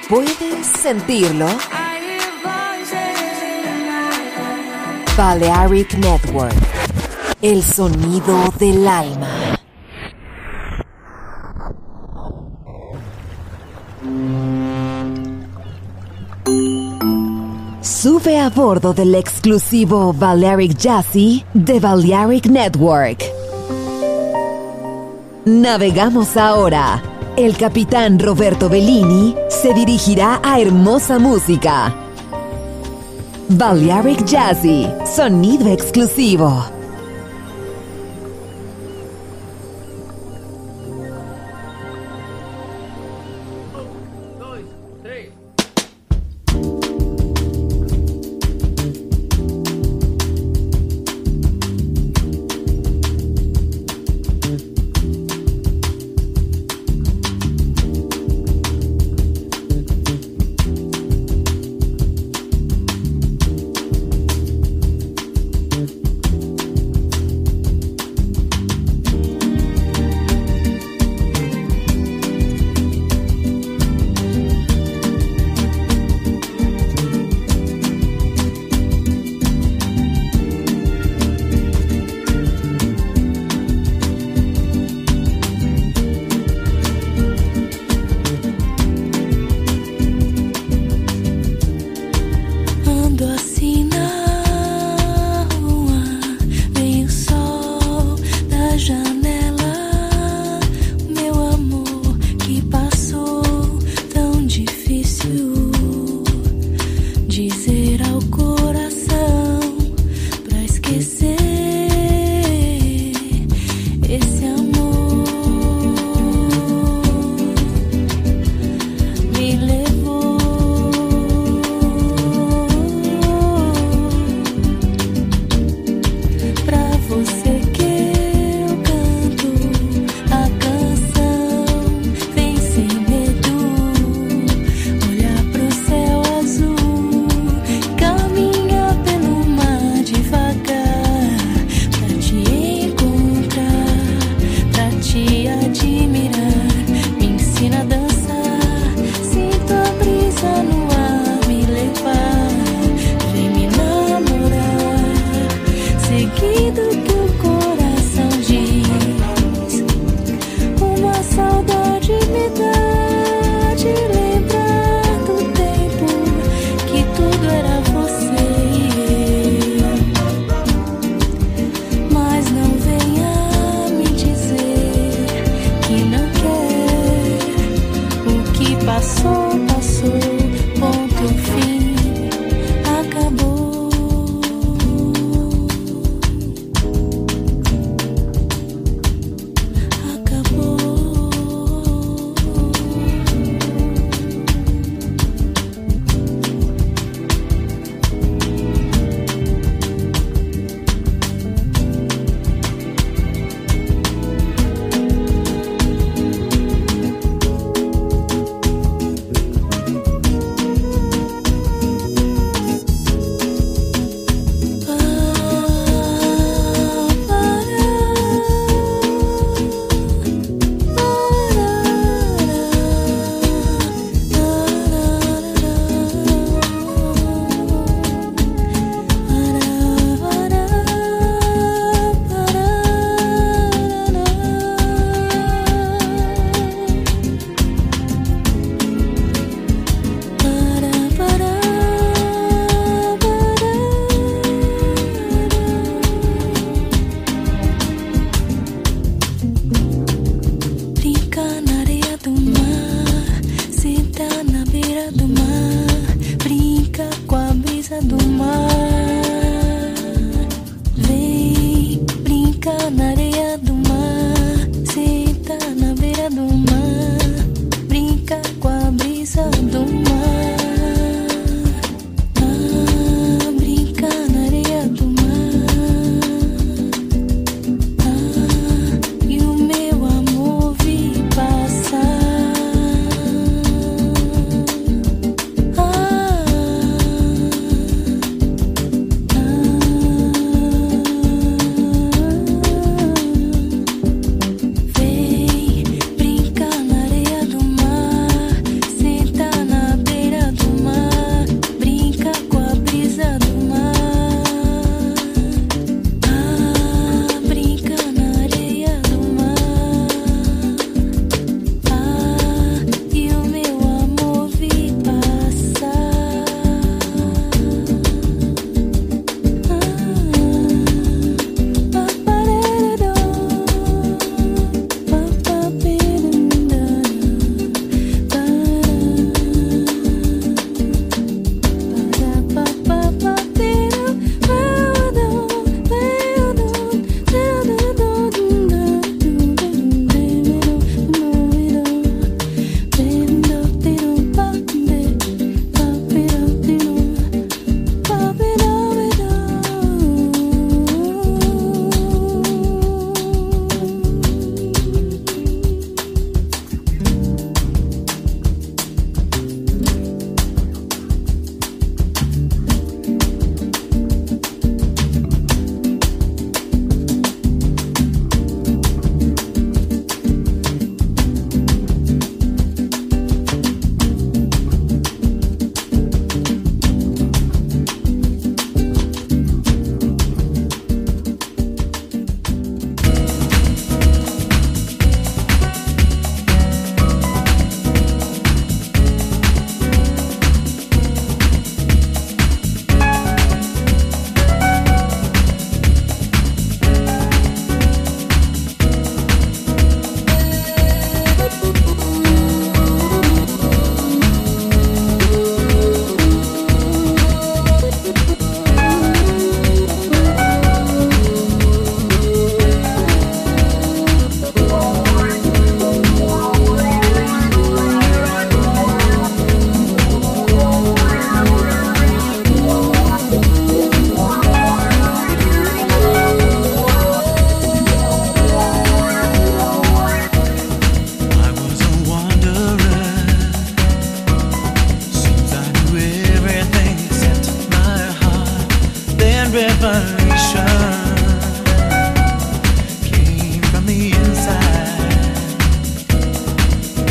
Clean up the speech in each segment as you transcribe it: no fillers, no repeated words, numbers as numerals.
¿Puedes sentirlo? Balearic Network, el sonido del alma. Sube a bordo del exclusivo Balearic Jazzy de Balearic Network. Navegamos ahora. El capitán Roberto Bellini se dirigirá a hermosa música. Balearic Jazzy, sonido exclusivo.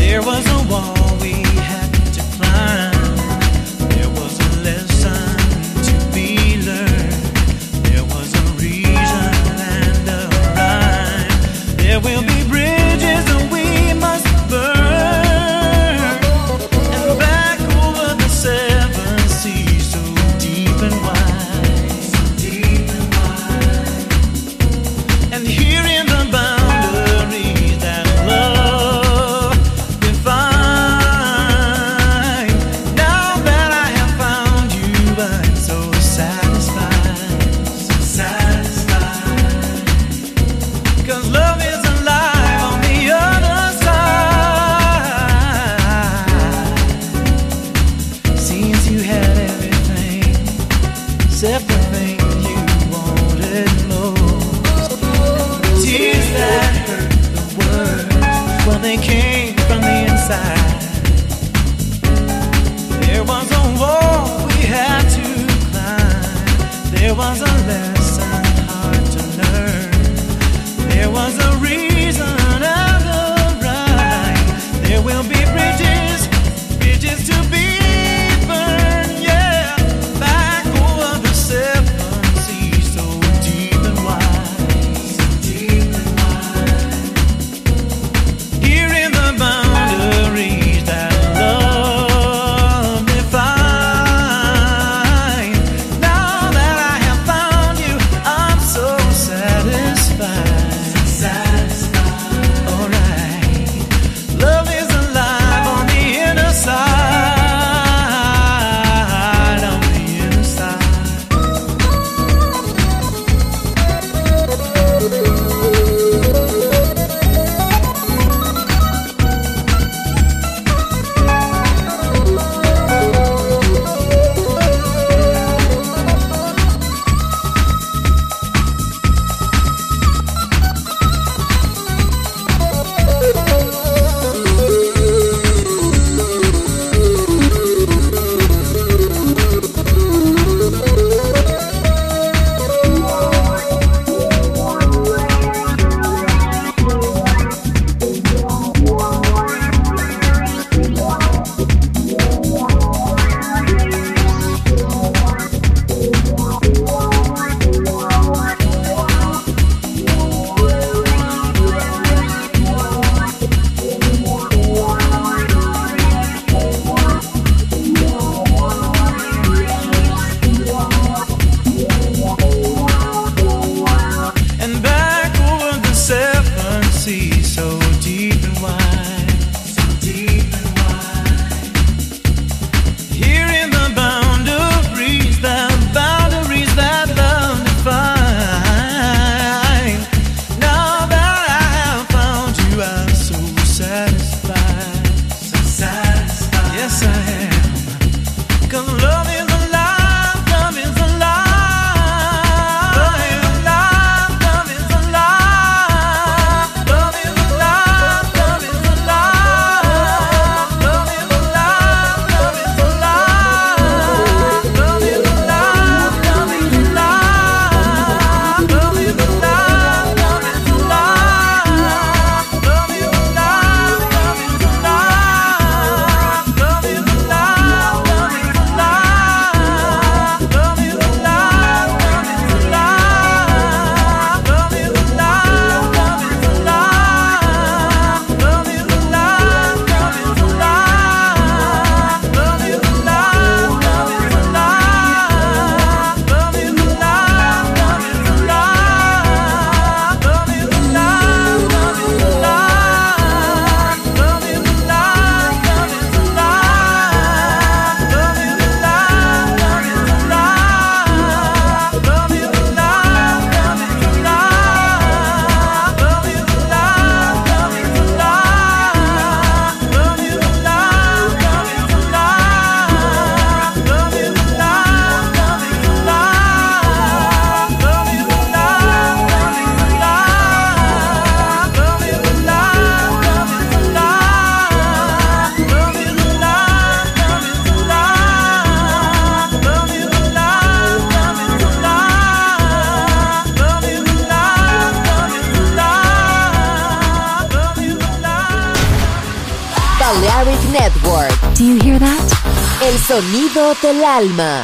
There was a wall we had to climb. There was a lesson to be learned. There was a reason and a rhyme. There will be bridges that we must burn. And back over the seven seas, so deep and wide, so deep and wide. And here in the boundaries that love define. Now that I have found you, I'm so satisfied, so satisfied. 'Cause love is alive on the other side. Seems you had everything except the thing you wanted most. Tears that hurt the words, well, they came from the inside. There was a wall we had to climb. There was a lesson hard to learn. There was a reason and a rhyme. There will be bridges, bridges to be burned, yeah. Back over the seven seas, so deep and wide, so deep and wide. Here in the boundaries that love define. Now that I have found you, I'm so satisfied, so satisfied. Balearic Network. Do you hear that? El sonido del alma.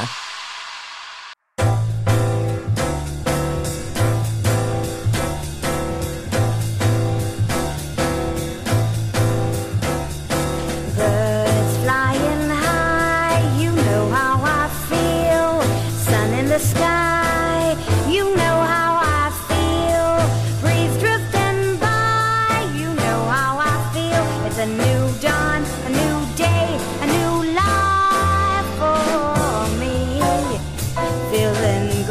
Birds flying high, you know how I feel. Sun in the sky, you know how I feel. Breeze drifting by, you know how I feel. It's a new dawn, a new day, a new life for me. Feeling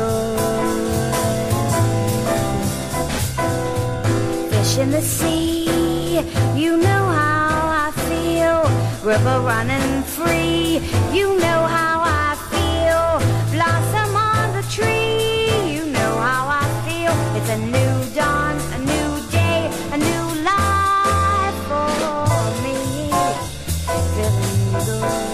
good. Fish in the sea, you know how I feel. River running free, you know how I feel. Blossom on the tree, you know how I feel. It's a new dawn, a new day, a new life for me. Feeling good.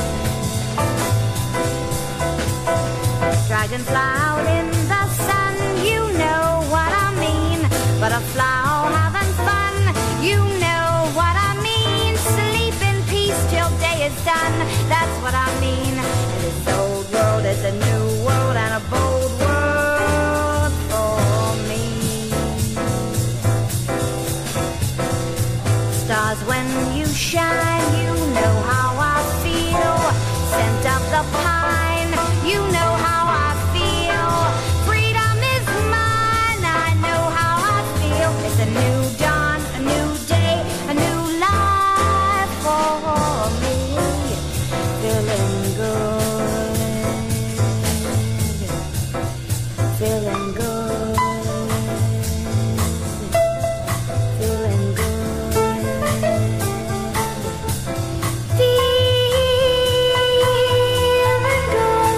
Dragonfly out in the sun, you know what I mean. Butterfly all having fun, you know what I mean. Sleep in peace till day is done, that's what I mean. This old world is a new world and a bold world for me. Stars when you shine, you know how I feel. Scent of the pine, you know how I feel. Freedom is mine, I know how I feel. It's a new dawn, a new day, a new life for me. Feeling good, feeling good, feeling good, feeling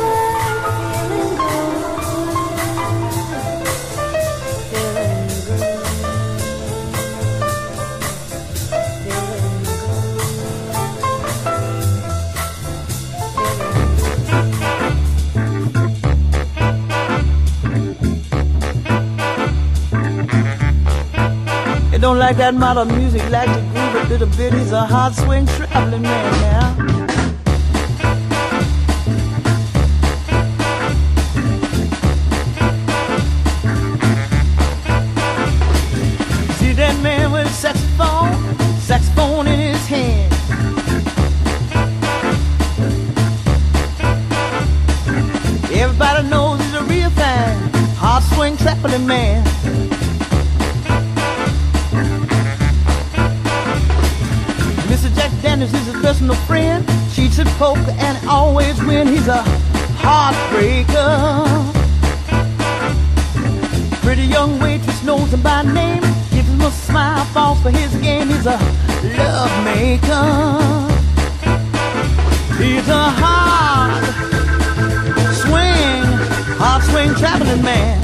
It don't like that modern music, like the groove a little bit. He's a hard swing traveling man now. See that man with a saxophone in his hand. Everybody knows he's a real fan, hard swing traveling man. Mr. Jack Daniels is his personal friend. Cheats at poker and always win. He's a heartbreaker. Pretty young waitress knows him by name. Gives him a smile, falls for his game. He's a love maker. He's a hard swing traveling man.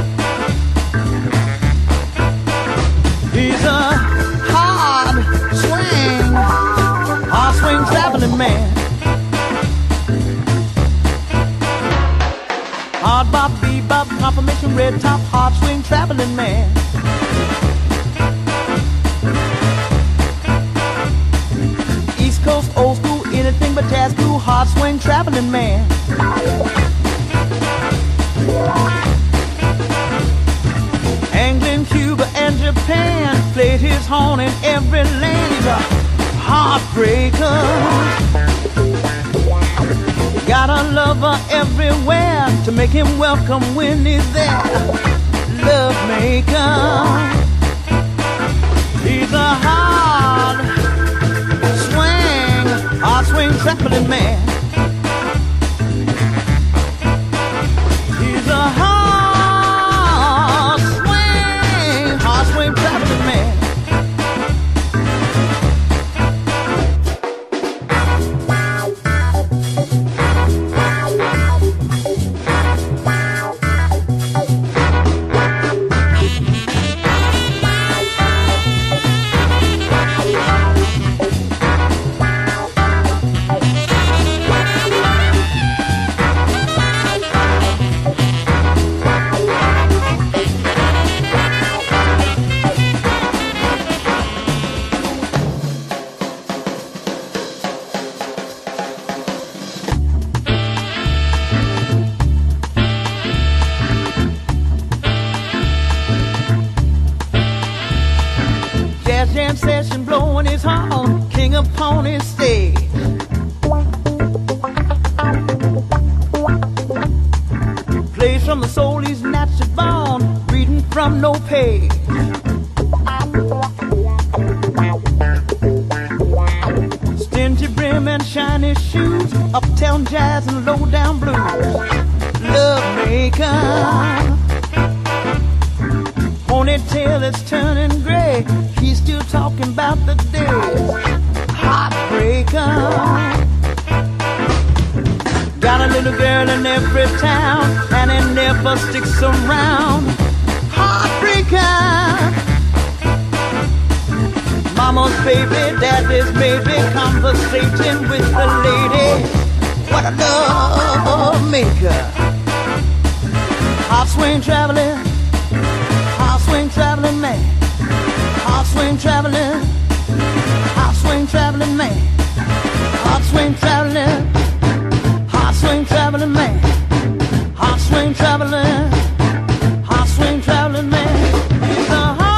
He's a hard swing traveling man. Hard bop, bebop, confirmation, red top, hard swing traveling man. East Coast, old school, anything but jazz cool, hard swing traveling man. England, Cuba, and Japan played his horn in every land. He's a heartbreaker. Got a lover everywhere to make him welcome when he's there. Love maker. He's a hard swing traveling man. He's a hard swing traveling man. women, shiny shoes, uptown jazz and low down blues. Love maker, ponytail is turning gray. He's still talking about the days. Heartbreaker, got a little girl in every town, and it never sticks around. Heartbreaker, mama's baby, daddy's maybe, conversating with the lady. What a love maker. Hot swing traveling man. Hot swing traveling man. Hot swing traveling man. Hot swing traveling man. He's a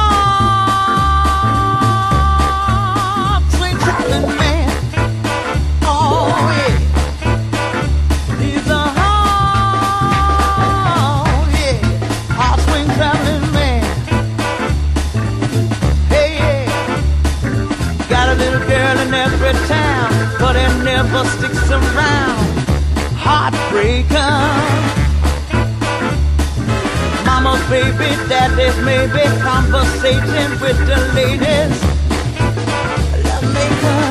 hot swing traveling man. Oh yeah. He's a hot swing traveling man. Hey yeah. Got a little girl in every town, but it never sticks around. Heartbreaker, mama's baby, daddy's maybe, conversating with the ladies. Love maker.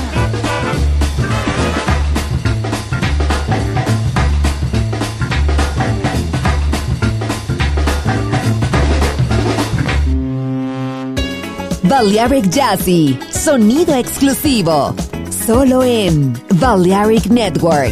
Balearic Jazzy, sonido exclusivo, solo en Balearic Network.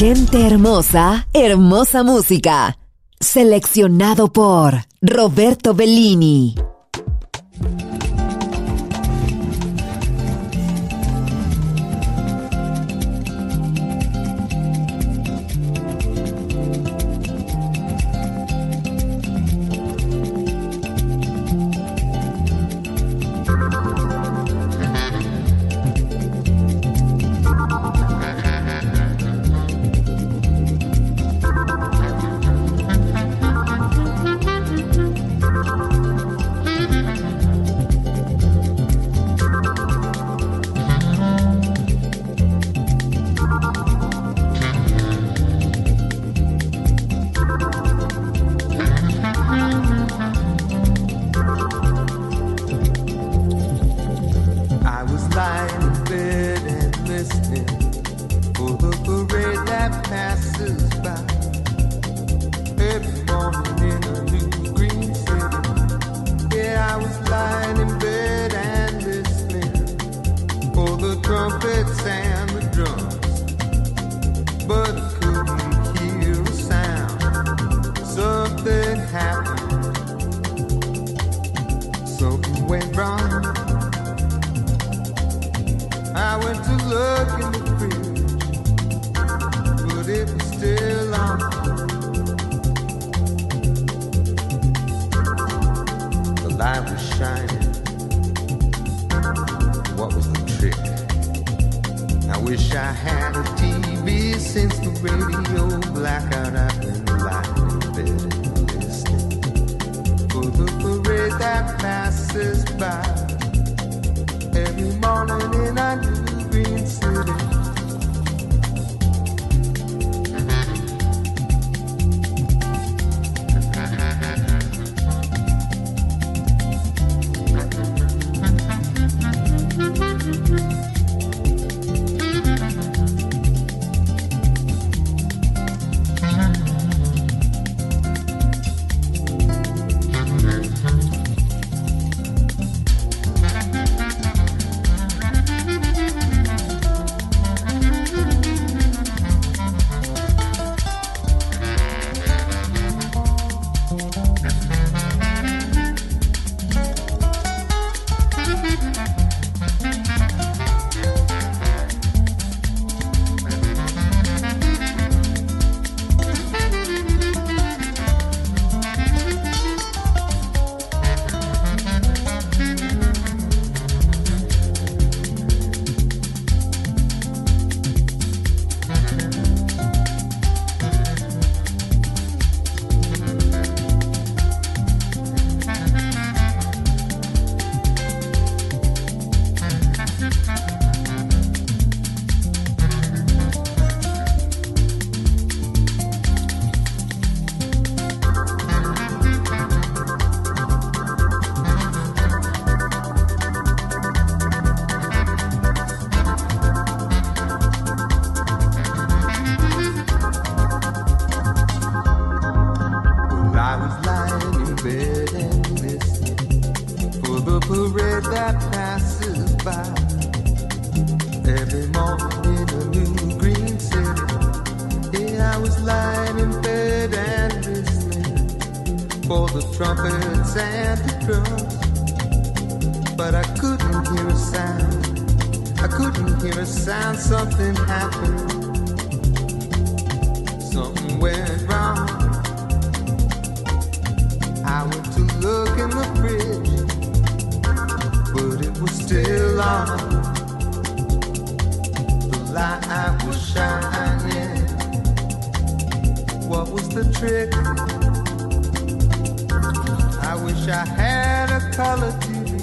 Gente hermosa, hermosa música. Seleccionado por Roberto Bellini. Something happened, something went wrong. I went to look in the fridge, but it was still on. The light was shining. What was the trick? I wish I had a color TV.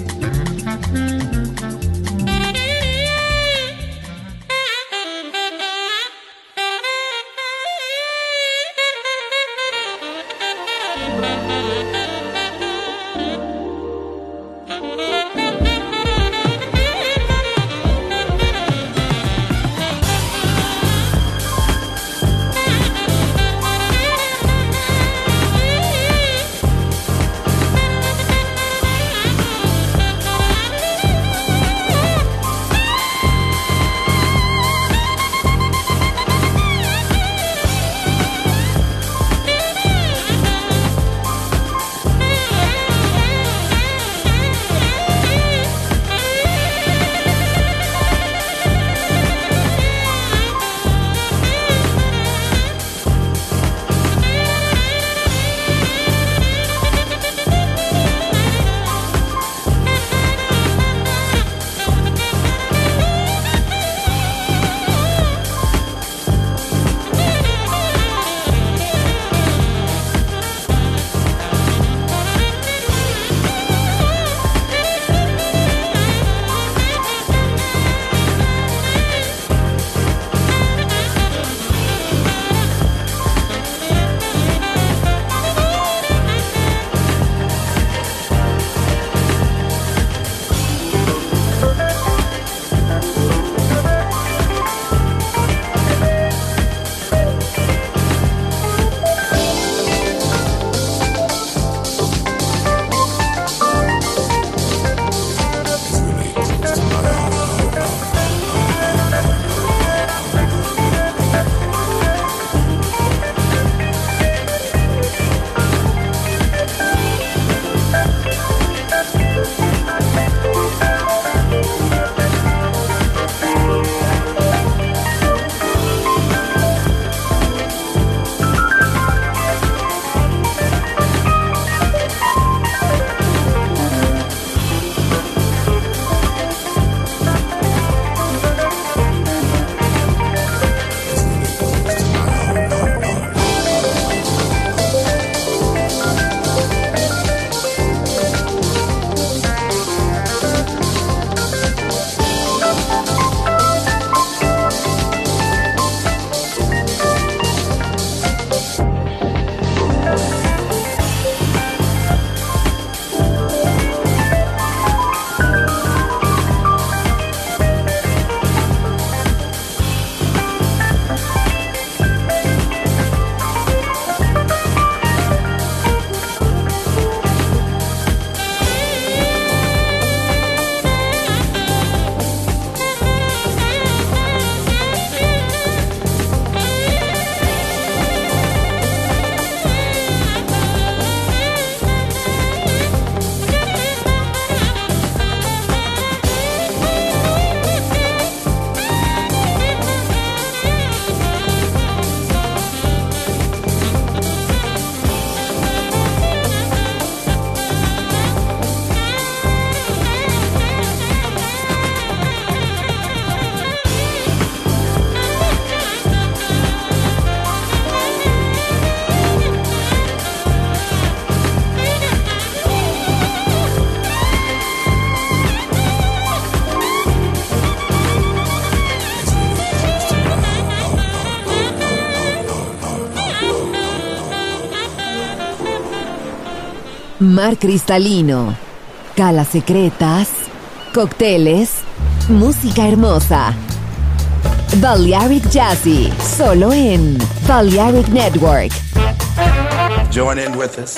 mar cristalino, calas secretas, cócteles, música hermosa. Balearic Jazzy, solo en Balearic Network. Join in with us.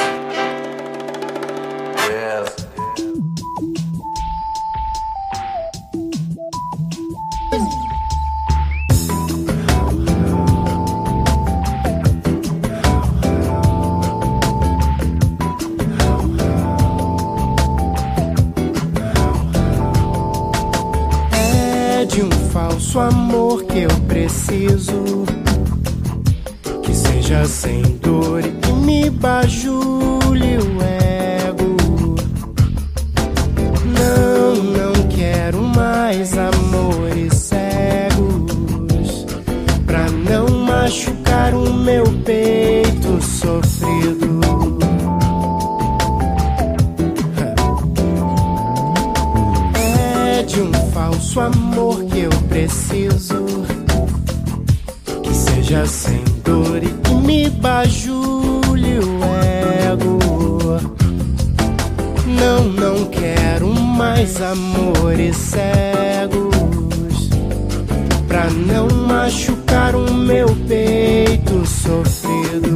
Yes. É de um falso amor que eu preciso, que seja sem dor e que me bajule o ego. Não quero mais amores cegos, pra não machucar o meu peito sofrido. É de um falso amor que eu preciso, que seja sem dor e que me bajule o ego. Não quero mais amores cegos, pra não machucar o meu peito sofrido.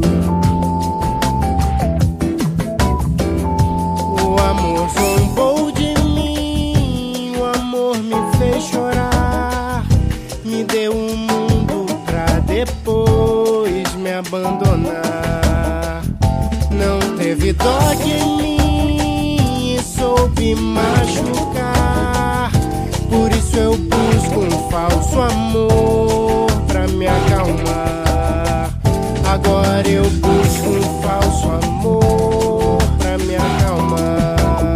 O amor zombou de mim, o amor me fez chorar, me deu um mundo pra depois me abandonar. Não teve dó de mim e soube machucar, por isso eu busco um falso amor pra me acalmar. Agora eu busco um falso amor pra me acalmar.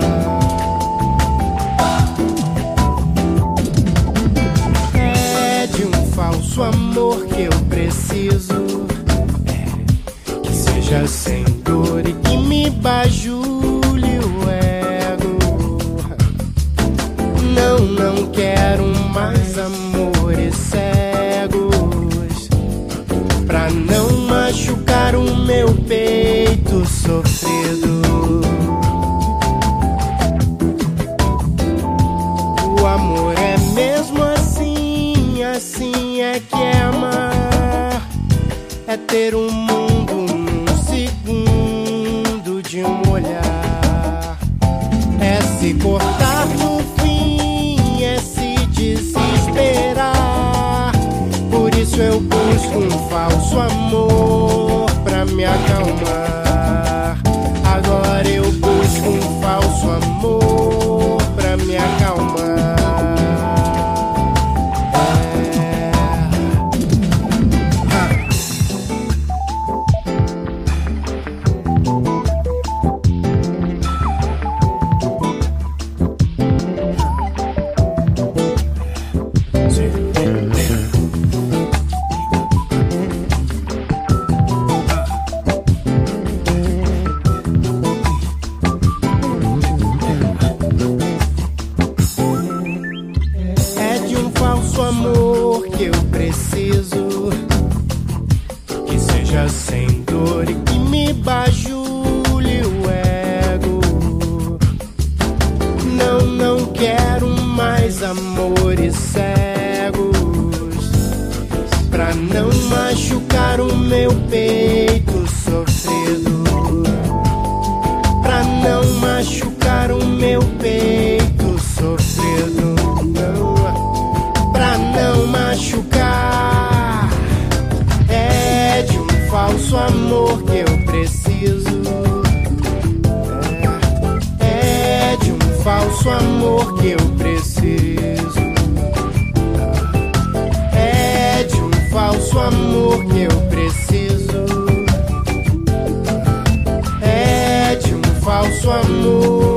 É de um falso amor que eu preciso, que seja sem dor e que me bajule o ego. Não quero mais amores cegos, pra não machucar o meu peito sofrido. O amor é mesmo assim, assim é que é amar, é ter um mundo num segundo de um olhar, é se cortar no fim, é se desesperar. Por isso eu busco um falso amor pra me acalmar. Agora eu busco um falso amor pra me acalmar. É de um falso amor que eu preciso, que seja sem dor e que me bajule o ego. Não quero mais amores cegos, pra não machucar o meu peito sofrido, pra não machucar o meu peito sofrido. Pra não machucar. É de um falso amor que eu preciso, é de um falso amor que eu preciso, é de um falso amor que eu preciso, é de um falso amor.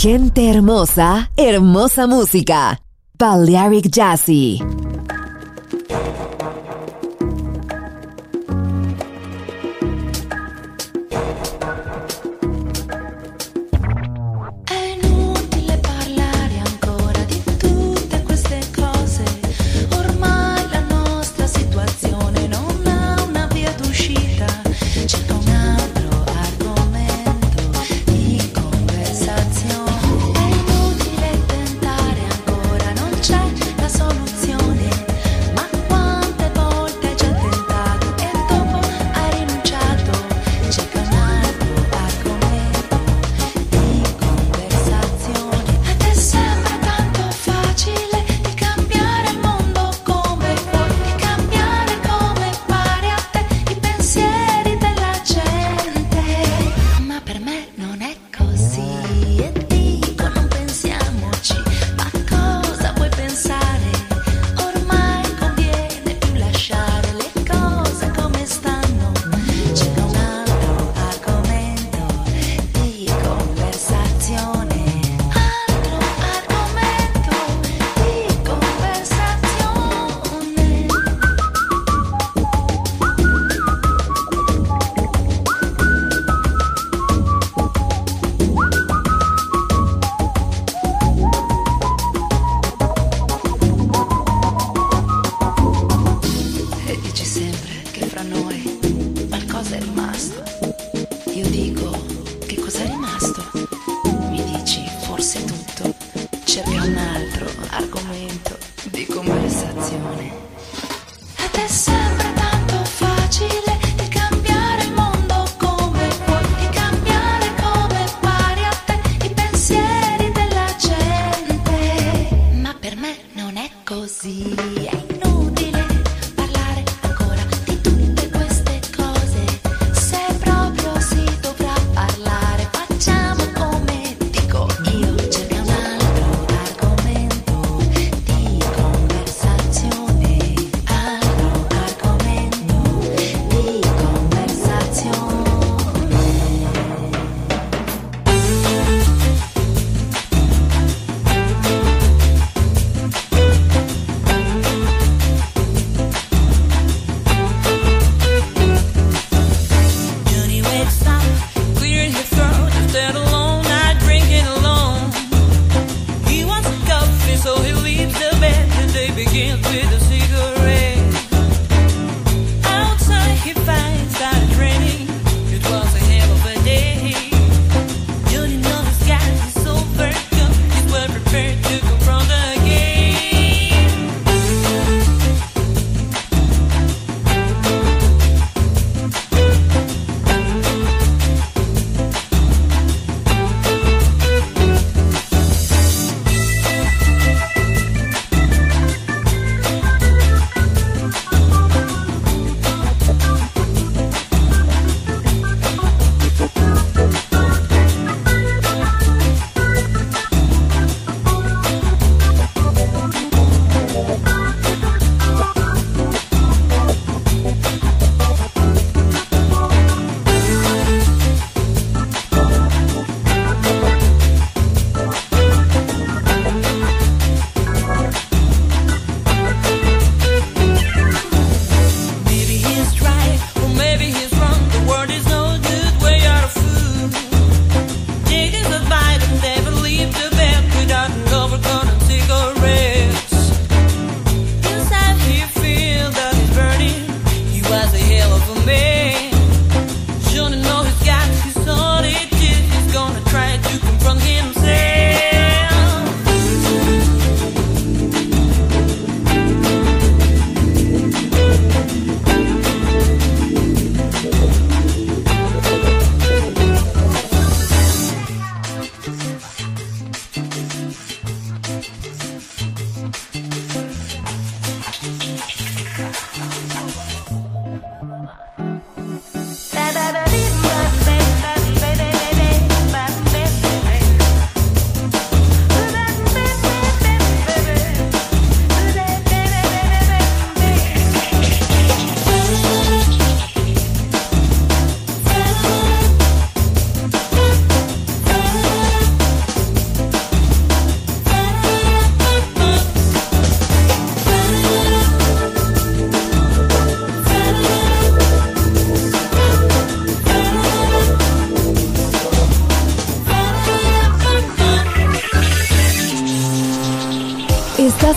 Gente hermosa, hermosa música. Balearic Jazzy. È inutile tentare ancora, non c'è la soluzione.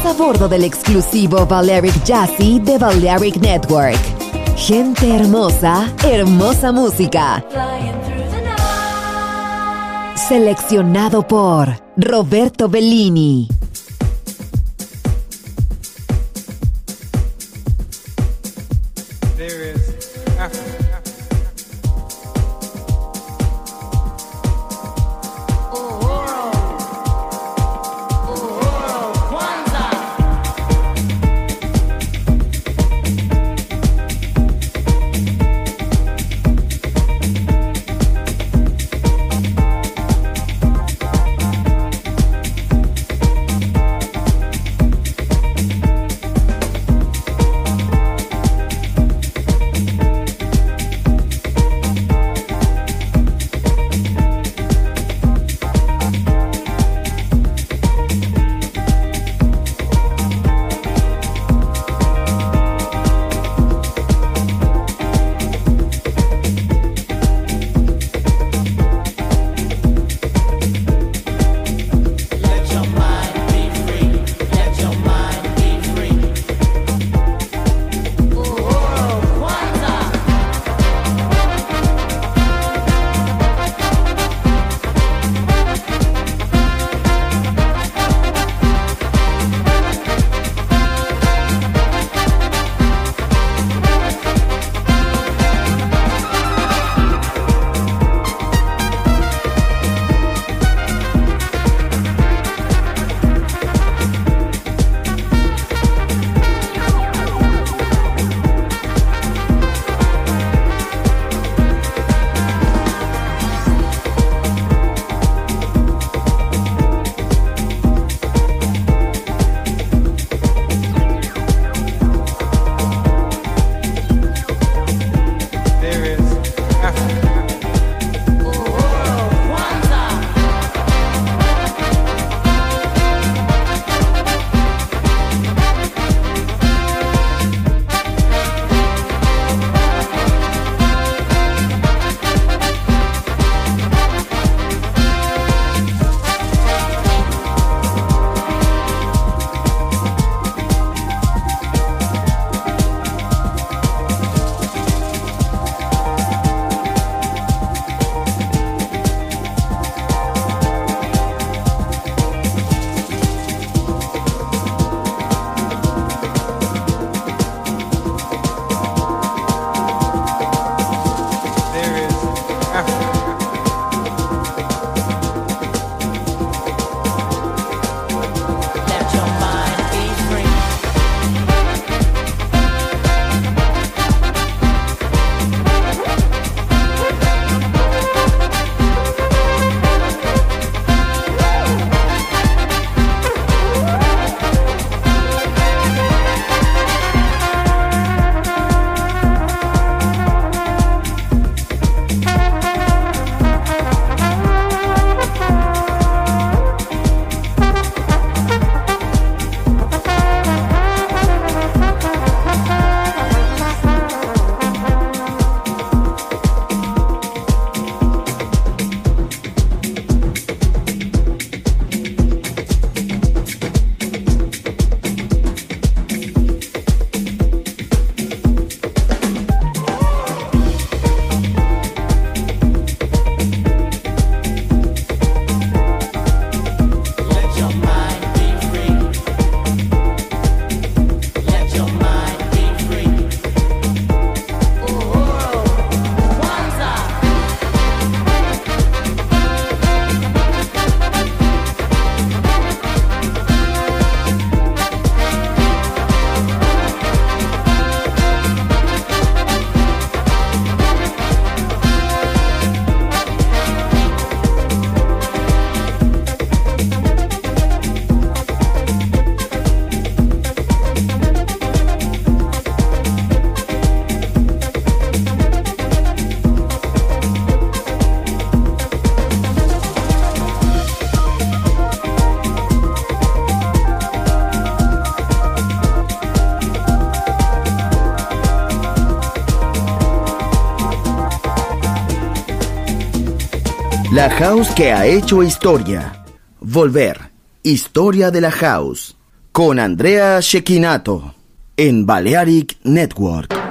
a bordo del exclusivo Balearic Jazzy de Balearic Network. Gente hermosa, hermosa música. Seleccionado por Roberto Bellini. There is Africa. La house que ha hecho historia. Volver. Historia de la house. con Andrea Cecchinato en Balearic Network.